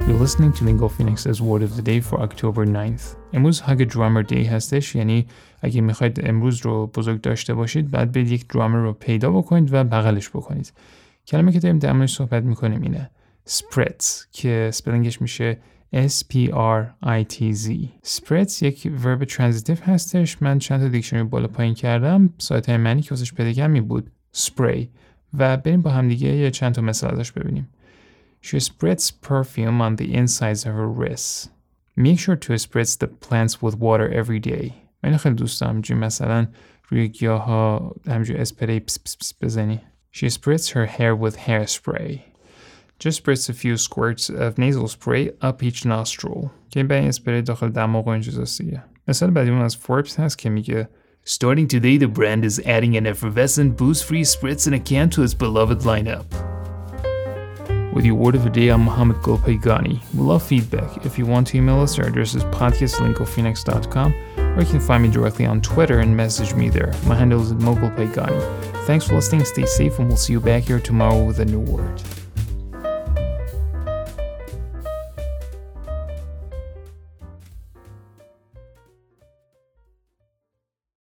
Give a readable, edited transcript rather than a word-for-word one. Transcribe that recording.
You're listening to Lingo Phoenix's Word of the Day for October 9th. امروز هاگ درامر دی هستش، یعنی اگه میخواید امروز رو بزرگ داشته باشید بعد برید یک درامر رو پیدا بکنید و بغلش بکنید. کلمه که داریم در موردش صحبت میکنیم اینه spritz که سپلینگش میشه S-P-R-I-T-Z. spritz یک ورب ترانزیتیو هستش. من چند تا دیکشنری بالا پایین کردم، سایت های معنی که واسش پیدا کردم بود spray و بریم با هم دیگه یه چند تا مثال ازش ببینیم. She spritz perfume on the insides of her wrists. Make sure to spritz the plants with water every day. من خیلی دوست دارم همینجوری مثلا روی گیاها همینجوری اسپری پس پس پس بزنی. She spritz her hair with hairspray. Just spritz a few squirts of nasal spray up each nostril. که این برای اسپری داخل دماغ و این چیزاست دیگه. مثال بعدیمون از فوربس هست که میگه Starting today, the brand is adding an effervescent, booze-free spritz in a can to its beloved lineup. With your word of the day, I'm Mohammed Golpaygani. We love feedback. If you want to email us, our address is podcast@lingophoenix.com, or you can find me directly on Twitter and message me there. My handle is @mogulpaygani. Thanks for listening, stay safe, and we'll see you back here tomorrow with a new word.